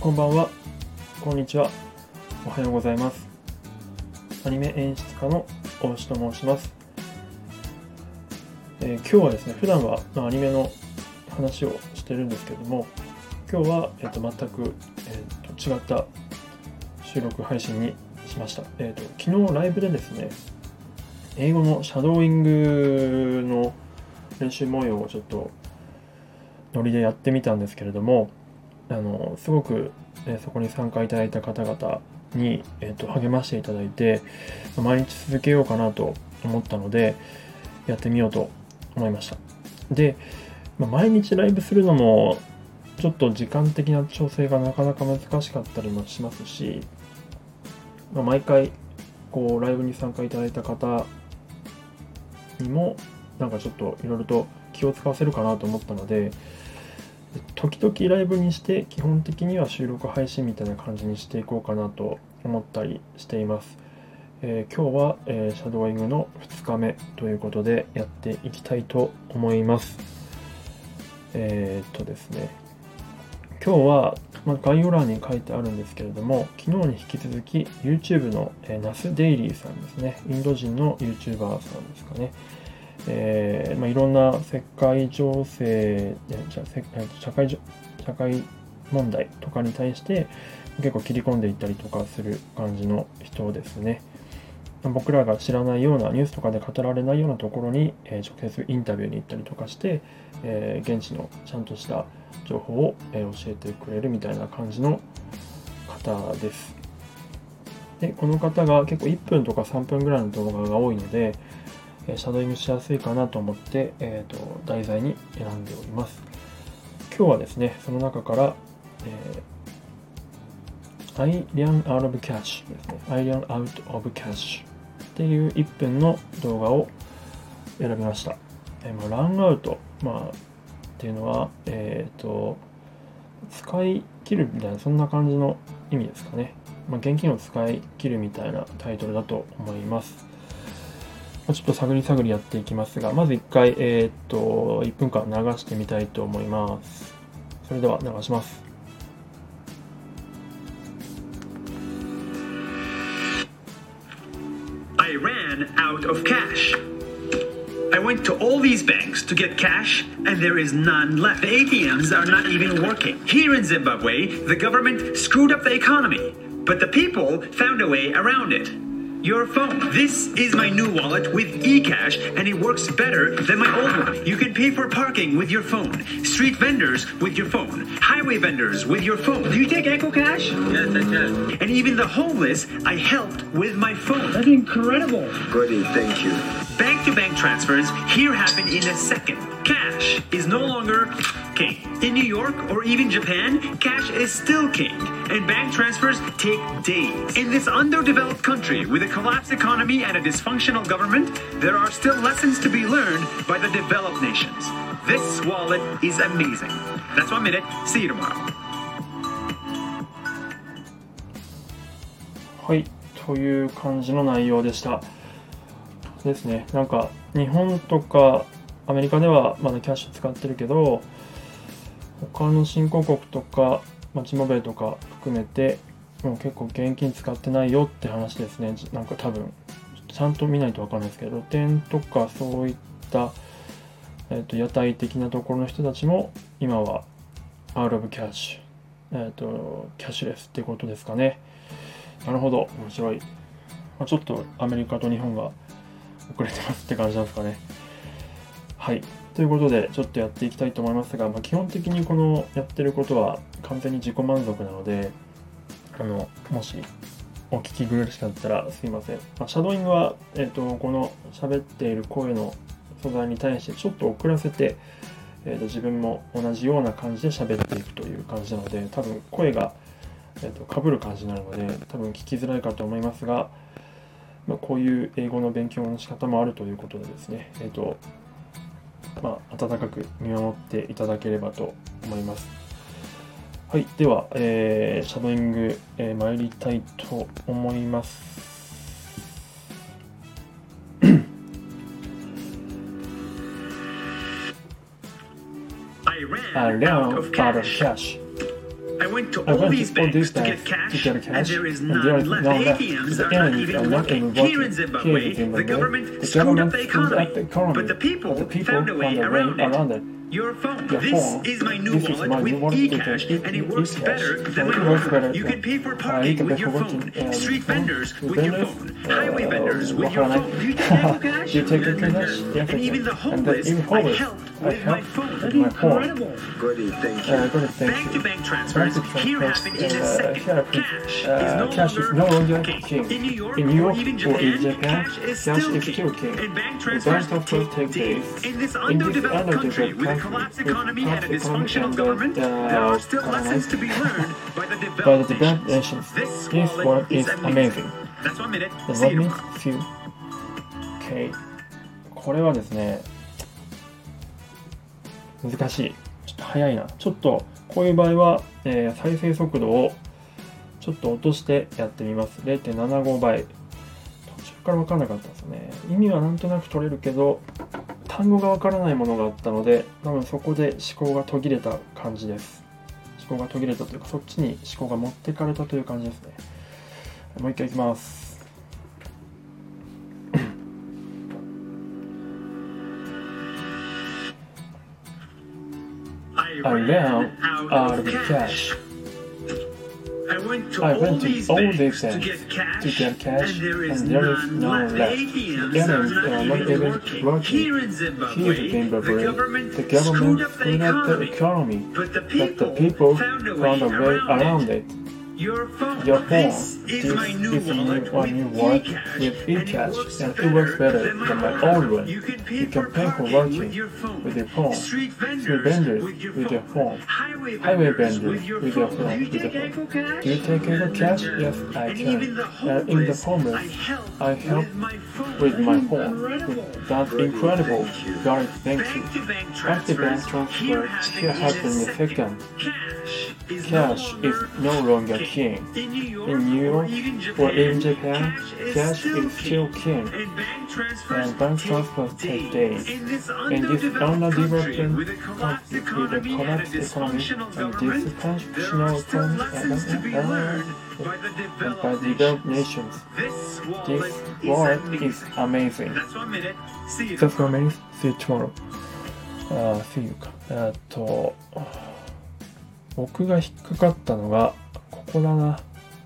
こんばんは、こんにちは、おはようございます。アニメ演出家の大牛と申します。今日はですね、普段はアニメの話をしてるんですけれども、今日は、全く、違った収録配信にしました。昨日ライブでですね、英語のシャドーイングの練習模様をちょっとノリでやってみたんですけれども、すごく、そこに参加いただいた方々に、励ましていただいて、毎日続けようかなと思ったのでやってみようと思いました。で、毎日ライブするのもちょっと時間的な調整がなかなか難しかったりもしますし、毎回こうライブに参加いただいた方にもなんかちょっといろいろと気を使わせるかなと思ったので、時々ライブにして基本的には収録配信みたいな感じにしていこうかなと思ったりしています。今日は、シャドーイングの2日目ということでやっていきたいと思います。ですね、今日は、概要欄に書いてあるんですけれども、昨日に引き続き YouTube の、ナスデイリーさんですね、インド人の YouTuber さんですかね。いろんな世界情勢、社会問題とかに対して結構切り込んでいったりとかする感じの人ですね。僕らが知らないようなニュースとかで語られないようなところに、直接インタビューに行ったりとかして、現地のちゃんとした情報を、教えてくれるみたいな感じの方です。で、この方が結構1分とか3分ぐらいの動画が多いので、シャドーイングしやすいかなと思って、題材に選んでおります。今日はですね、その中から、I ran out of cash ですね。I ran out of cash っていう1分の動画を選びました。ランアウト、っていうのは、使い切るみたいな、そんな感じの意味ですかね。現金を使い切るみたいなタイトルだと思います。ちょっと探りやっていきますが、まず1回、1分間流してみたいと思います。それでは流します。 I ran out of cash. I went to all these banks to get cash, and there is none left. The ATMs are not even working. Here in Zimbabwe, the government screwed up the economy, but the people found a way around it. Your phone. This is my new wallet with eCash, and it works better than my old one. You can pay for parking with your phone, street vendors with your phone, highway vendors with your phone. Do you take EcoCash? Yes, I can. And even the homeless, I helped with my phone. That's incredible. Goody, thank you. Bank-to-bank transfers here happen in a second. Cash is no longer king. In New York or even Japan, cash is still king, and bank transfers take days. In this underdeveloped country with a collapsed economy and a dysfunctional government, there are still lessons to be learned by the developed nations. This wallet is amazing. That's 1 minute. See you tomorrow. はい、という感じの内容でした。ですね、なんか日本とかアメリカではまだキャッシュ使ってるけど、他の新興国とかジンバブエとか含めてもう結構現金使ってないよって話ですね。なんか多分ちゃんと見ないと分かんないですけど、露店とかそういった、屋台的なところの人たちも今はアウトオブキャッシュ、キャッシュレスってことですかね。なるほど、面白い。ちょっとアメリカと日本が遅れてますって感じなんですかね。はい、ということでちょっとやっていきたいと思いますが、基本的にこのやってることは完全に自己満足なので、もしお聞き苦しかったらすいません。シャドーイングは、この喋っている声の素材に対してちょっと遅らせて、自分も同じような感じで喋っていくという感じなので、多分声が、被る感じになるので多分聞きづらいかと思いますが、こういう英語の勉強の仕方もあるということでですね、温かく見守っていただければと思います。はい、では、シャドーイング、参りたいと思います。 I ran out of cash. I went to I all went these to all banks these to banks get cash, to get cash, and there is and there none is left. none The left. ATMs The are not ATMs even are not working. even Here in working. Zimbabwe, Here in the Zimbabwe, government the screwed up government the screwed up economy, the economy, but the people found a way around it. Your phone. Your This phone. is my new This is wallet my with new wallet with eCash, and it works eCash. better than It my works phone. better You than- can pay for you parking can with pay your for phone, parking, street vendors street with your vendors, phone, highway vendors with your わからない。 phone. Do you take Apple Cash? Do you take Apple Cash? Yes, And I even do. the And homeless, even I homeless, help I with my help phone. with my phone. Incredible. Goody, thank you. Good, thank you. Bank-to-bank transfers here happen in a second. Cash is no longer king. In New York, In New York or even or in Japan, Japan, cash is still king. And bank transfers take days. In this underdeveloped country with a collapsed economy and a dysfunctional government, there are still lessons to be learned by the by the developed developed nations. nations. This wallet is amazing. That's 1 minute. Does See that you. mean few? Okay. これはですね、難しい。ちょっと早いな。ちょっとこういう場合は、再生速度をちょっと落としてやってみます。0.75 倍。途中から分からなかったんですよね。意味はなんとなく取れるけど、単語が分からないものがあったので、多分そこで思考が途切れた感じです。思考が途切れたというか、そっちに思考が持ってかれたという感じですね。もう一回いきます。I ran out of cash. I went to I all went to these all banks these to banks get cash, to get cash, and there is and there is none none left. left. ATMs The are ATMs are not even working. Here in Zimbabwe, the government screwed up the economy, but the people found a way around it. Your phone. This is my new wallet with eCash, and it works better than my old one. You can pay You for can pay for parking parking with your phone. with your phone. Street Street vendors with your phone. Highway vendors with your phone. Do you take Apple Cash? Do you take Apple Cash? Yes, I And can. even the In the homeless, homeless, I I help help with my phone. with my phone. That's incredible. Got it, thank you. Bank-to-bank Bank transfers here happen in a second. Cash is no longer king. In In New York or in Japan, cash is still king. And bank transfers take days. In this underdeveloped country with a collapsed economy and a dysfunctional government, there are still lessons to be learned by the developed developed nations. nations. This This wallet wallet is amazing. That's 1 minute. See you. That's what I mean. See you tomorrow. See you か。僕が引っかかったのが、ここだな。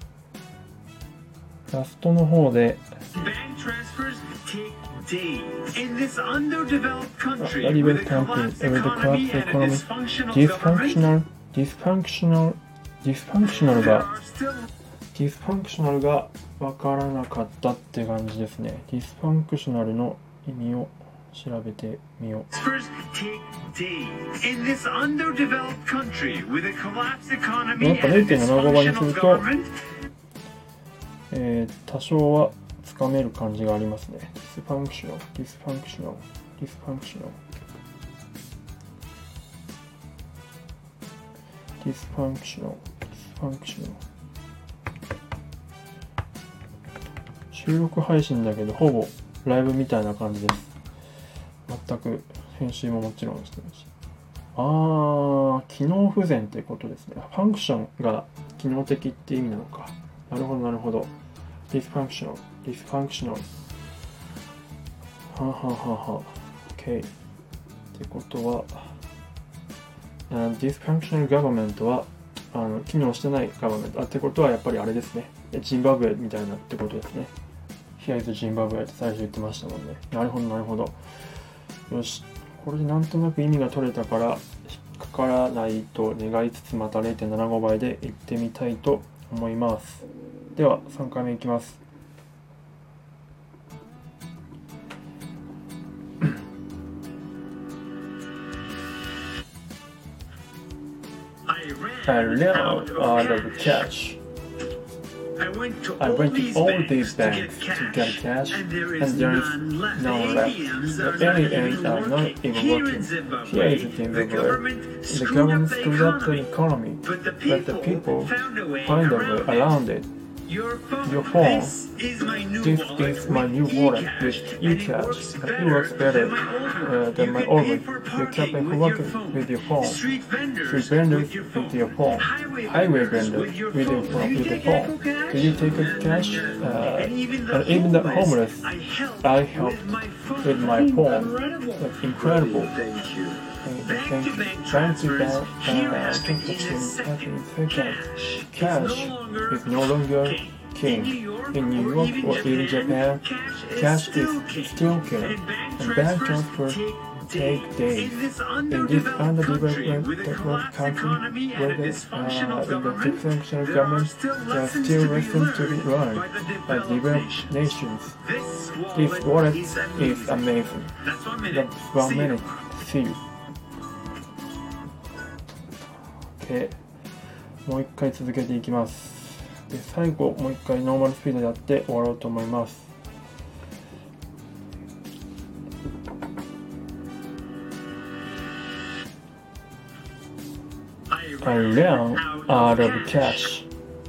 ラストの方で、 Bank transfers take days. In this underdeveloped country Very with well a counted. collapsed With the economy collapsed and a economy, dysfunctional government, dysfunctional there が、 are still dysfunctional が分からなかったって感じですね。dysfunctional の意味を調べてみよう。 transfers take days. In this underdeveloped country with a collapsed economy やっぱ and a 0.75 倍にす dysfunctional ると、 government, 多少はつかめる感じがありますね。dysfunctional, dysfunctional, dysfunctional, dysfunctional, dysfunctional。収録配信だけど、ほぼライブみたいな感じです。全く編集ももちろんしてるし。機能不全ってことですね。ファンクションが機能的って意味なのか。なるほど、なるほど。dysfunctional, dysfunctional。はははは。OK。ってことは、dysfunctional government は機能してない government。ってことはやっぱりあれですね。ジンバブエみたいなってことですね。Here is Zimbabwe って最初言ってましたもんね。なるほど、なるほど。よし。これでなんとなく意味が取れたから引っかからないと願いつつ、また 0.75 倍で行ってみたいと思います。では3回目いきます。I ran out of cash. I went to I all went to these all banks these to banks get to get cash, and there and is there is none left. none left. ATMs The are not ATMs even are not working. even Here working. in Zimbabwe, Here is the Zimbabwe. government The screwed government up the screwed up the economy, economy, but the but the people people found a way find a way around it. around it. Your Your phone. This is my new This wallet. is my new wallet with eCash. It works better than my old one. You can pay for working with your phone. Street vendors Street vendors with your phone. Highway vendors with your phone. Do you take Echo Cash? Do you take a cash? And Even the homeless, I help with my phone. Incredible. That's incredible. Thank you. Thank you. Bank to bank transaction second. Cash is no longer king. In New York or in Japan, cash is still king, and bank transfers take days. In this underdeveloped country, where in the dysfunctional government, there are still lessons to be learned by developed nations. This wallet is amazing. That's 1 minute. See you. Okay. もう一回続けていきます。で、最後もう一回ノーマルスピードでやって終わろうと思います。I ran out of cash.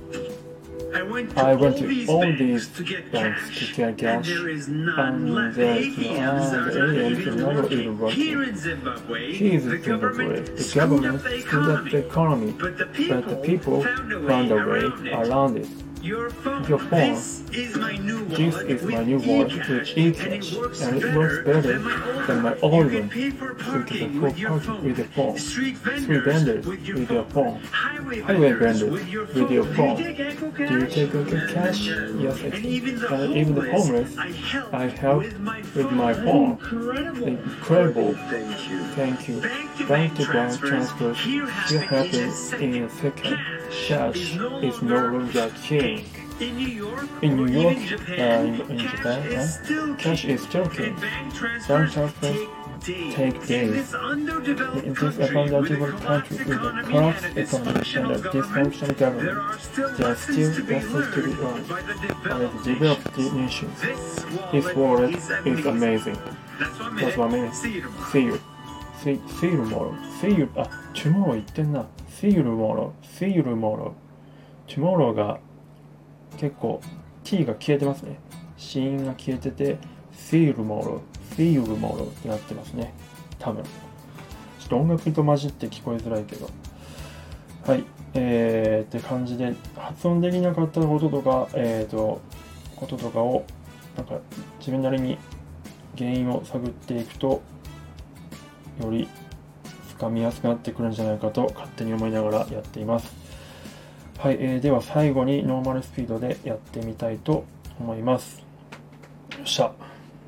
I went to all these banks to get cash, and there's not even working. Here in Zimbabwe, the government screwed up the economy, but the people found a way around it. Your phone. This is my new wallet with eCash, and it works better than my old one. You can full party with your phone. Street vendors with your phone. Highway vendors with your phone. Do you take a cash? Yes, I do. And even the homeless, I help with my phone. Incredible. Thank you. Bank to bank transfers still happen in a second. Cash is no longer king. In New York, in Japan, cash is still king. Bank transfers take days. In this underdeveloped country with a corrupt economy and a dysfunctional government, there are still lessons to be learned by the developed nations. This wallet is amazing. That's 1 minute. See you. See you tomorrow. See you. tomorrow 言ってんな。See you tomorrow. See you tomorrow. tomorrow が結構 t が消えてますね。子音が消えてて See you tomorrow. See you tomorrow ってなってますね。多分。ちょっと音楽と混じって聞こえづらいけど。はい。って感じで発音できなかったこととか、こととかをなんか自分なりに原因を探っていくとより掴みやすくなってくるんじゃないかと勝手に思いながらやっています。はい、では最後にノーマルスピードでやってみたいと思います。よっしゃ。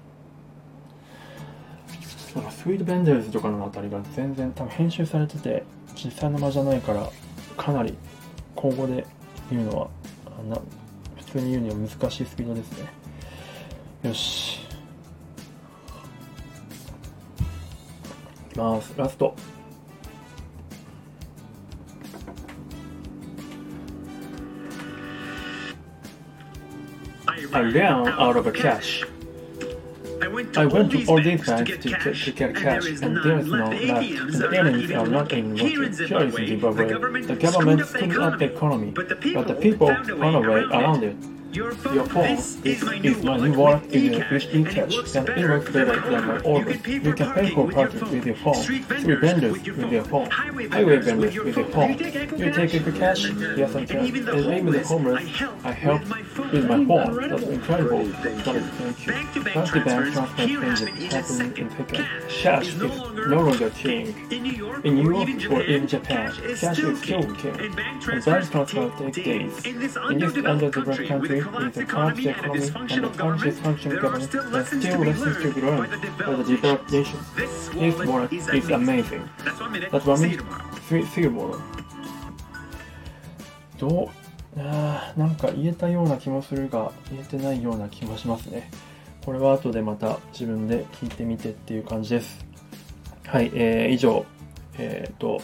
なんかスイートベンデルズとかのあたりが全然多分編集されてて実際の間じゃないからかなり口語で言うのは普通に言うには難しいスピードですね。よし。いきます。ラスト。I ran out of cash. I went to all these banks to get cash, and there is no left. And the aliens are not even working. Here in Zimbabwe, the government screwed up the economy, but the people found a way around it. Your phone is my new wallet with eCash, and it works better than my old one. You can pay for parking with your phone. Street vendors with your phone. Highway vendors with your phone. You take a cash? Yes, I can. And even the homeless, I help with my phone. That's incredible. Thank you. Bank to bank transfer happen in second. Cash is no longer king. In New York or in Japan, cash is still king. And bank transfer take days. In this underdeveloped country, with the corrupt economy and the dysfunctional government, there are still lessons to be learned by the developed nations. This wallet is amazing. That's 1 minute. See you tomorrow. なんか言えたような気もするが言えてないような気もしますね。これは後でまた自分で聞いてみてっていう感じです。はい、以上、シャド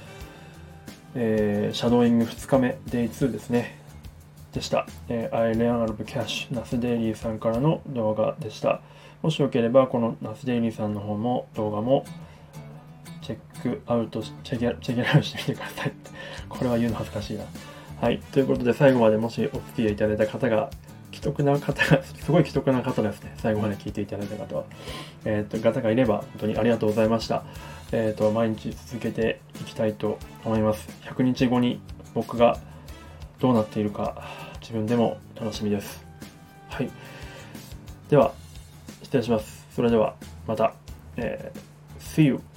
ーイング2日目 Day2 ですね。でした。I ran out of cash ナスデイリーさんからの動画でした。もしよければこのナスデイリーさんの方も動画もチェックアウトチェケラウトしてみてください。これは言うの恥ずかしいな。 はい、ということで最後までもしお付き合いいただいた方がすごい既得な方ですね。最後まで聞いていただいた方は、方がいれば本当にありがとうございました。毎日続けていきたいと思います。100日後に僕がどうなっているか自分でも楽しみです。はい。では失礼します。それではまた、See you!